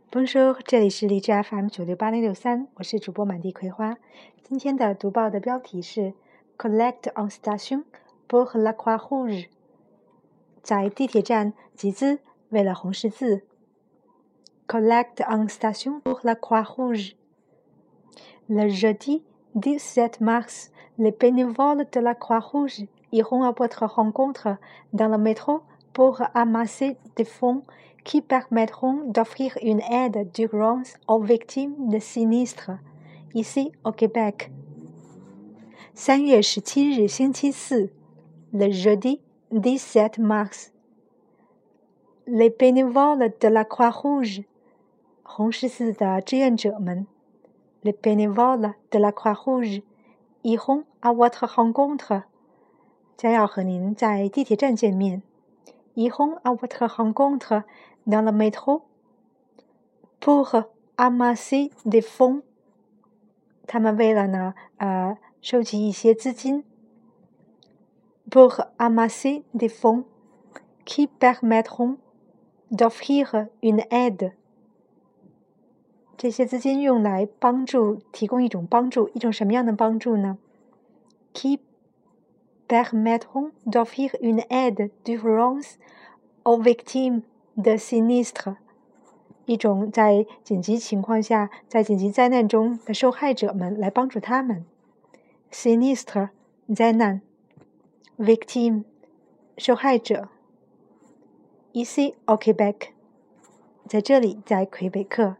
Bonjour，这里是荔枝 FM 968063，我是主播满地葵花。今天的读报的标题是 Collecte en station pour la Croix-Rouge， 在地铁站集资为了红十字。Collecte en station pour la Croix-Rouge. Le jeudi 17 mars, les bénévoles de la Croix-Rouge iront à votre rencontre dans le métro pour amasser des fonds qui permettront d'offrir une aide d'urgence aux victimes de sinistres, ici au Québec. 3月17日星期四 le jeudi 17 mars. Les bénévoles de la Croix-Rouge, 红十字的志愿者们 les bénévoles de la Croix-Rouge iront à votre rencontre, 将要和您在地铁站见面。iront à votre rencontre dans le métro pour amasser des fonds. 他们为了呢，收集一些资金。pour amasser des fonds qui permettront d'offrir une aide. 这些资金用来提供一种帮助，一种什么样的帮助呢？ qui permettront d'offrir une aide d'urgence aux victimes de sinistres. 一种在紧急情况下，在紧急灾难中的受害者们来帮助他们。sinistre 灾难 victime 受害者。ici au Québec 在这里，在魁北克。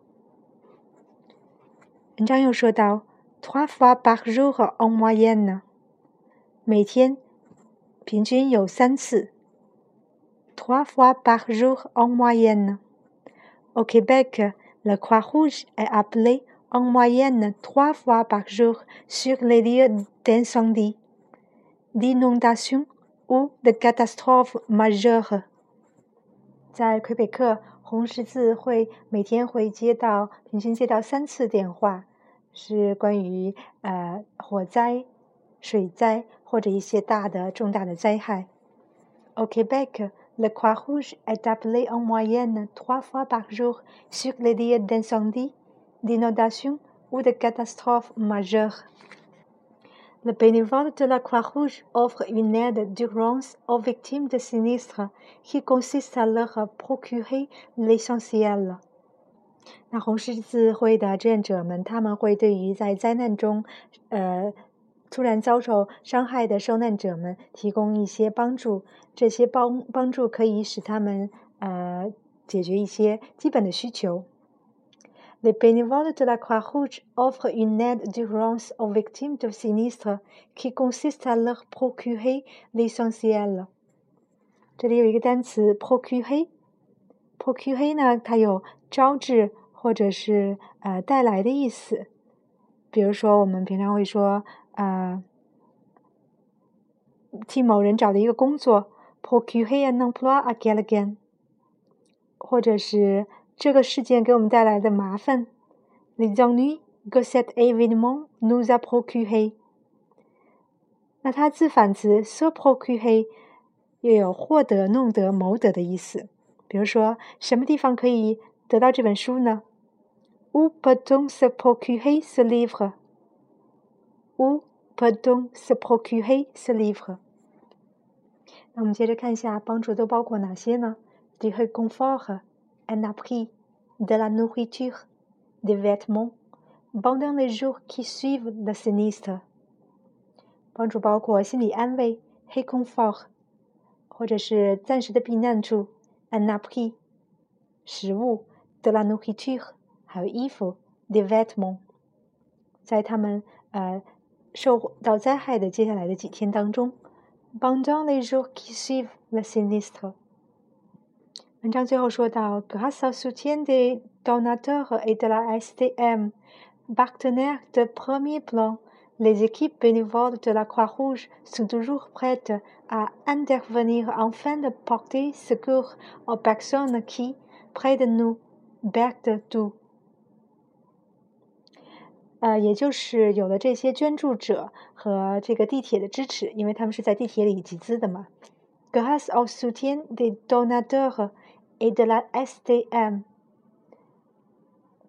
文章又说到 trois fois par jour en moyenne， 每天平均有3次。trois fois par jour en moyenne。Au Québec, la Croix-Rouge est appelée en moyenne 3 fois par jour sur les lieux d'incendie, d'inondation ou de catastrophes majeures. 在魁北克，红十字会每天会平均接到3次电话，是关于火灾、水灾或者一些重大的灾害。Au Québec,Le Croix-Rouge est appelé en moyenne 3 fois par jour sur les lieux d'incendie, d'inondation ou de catastrophes majeures. Le bénévole de la Croix-Rouge offre une aide d'urgence aux victimes de sinistres qui consiste à leur procurer l'essentiel. 那红十字会的志愿者们，他们会对于在灾难中突然遭受伤害的受难者们提供一些帮助，这些帮助可以使他们解决一些基本的需求。Les bénévoles de la Croix-Rouge offrent une aide d'urgence aux victimes de sinistres qui consiste à leur procurer l'essentiel. 这里有一个单词 procurer 呢，它有招致或者是带来的意思。比如说我们平常会说替某人找的一个工作 procurer un emploi à quelqu'un， 或者是这个事件给我们带来的麻烦 les ennuis que cet événement nous a procuré。 那它自反词 se procurer 又有获得、弄得、谋得的意思。比如说什么地方可以得到这本书呢？ Où peut-on se procurer ce livre？ Où peut-on se procurer ce livre？ 那我们接着看一下帮助都包括哪些呢？ Du réconfort, un abri, de la nourriture, des vêtements, pendant les jours qui suivent le sinistre。 帮助包括心理安慰 réconfort， 或者是暂时的避难处 un abri， 食物 de la nourriture， 还有衣服 des vêtements。 在他们受到灾害的接下来的几天当中 pendant les jours qui suivent le sinistre。 文章最后说到 grâce au soutien des donateurs et de la STM, partenaires de premier plan, les équipes bénévoles de la Croix-Rouge sont toujours prêtes à intervenir afin de porter secours aux personnes qui, près de nous, perdent tout。也就是有了这些捐助者和这个地铁的支持，因为他们是在地铁里集资的嘛。Grâce au soutien des donateurs et de la STM，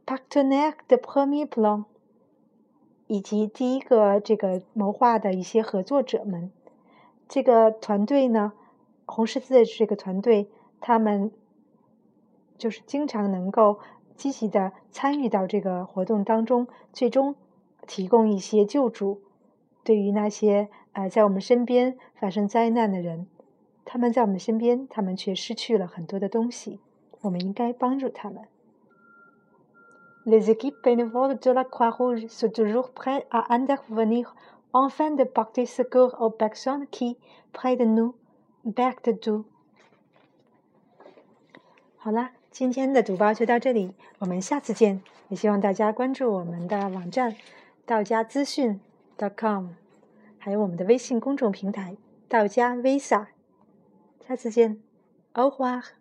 partenaire de premier plan， 以及第一个这个谋划的一些合作者们。这个团队呢，红十字的这个团队，他们就是经常能够积极的参与到这个活动当中，最终提供一些救助。对于那些在我们身边发生灾难的人，他们在我们身边，他们却失去了很多的东西，我们应该帮助他们。Les équipes bénévoles de la Croix-Rouge sont toujours prêtes à intervenir afin de porter secours aux personnes qui, près de nous, perdent tout。 好啦，今天的读报就到这里，我们下次见。也希望大家关注我们的网站道家资讯 .com， 还有我们的微信公众平台道家 Visa。下次见，au revoir。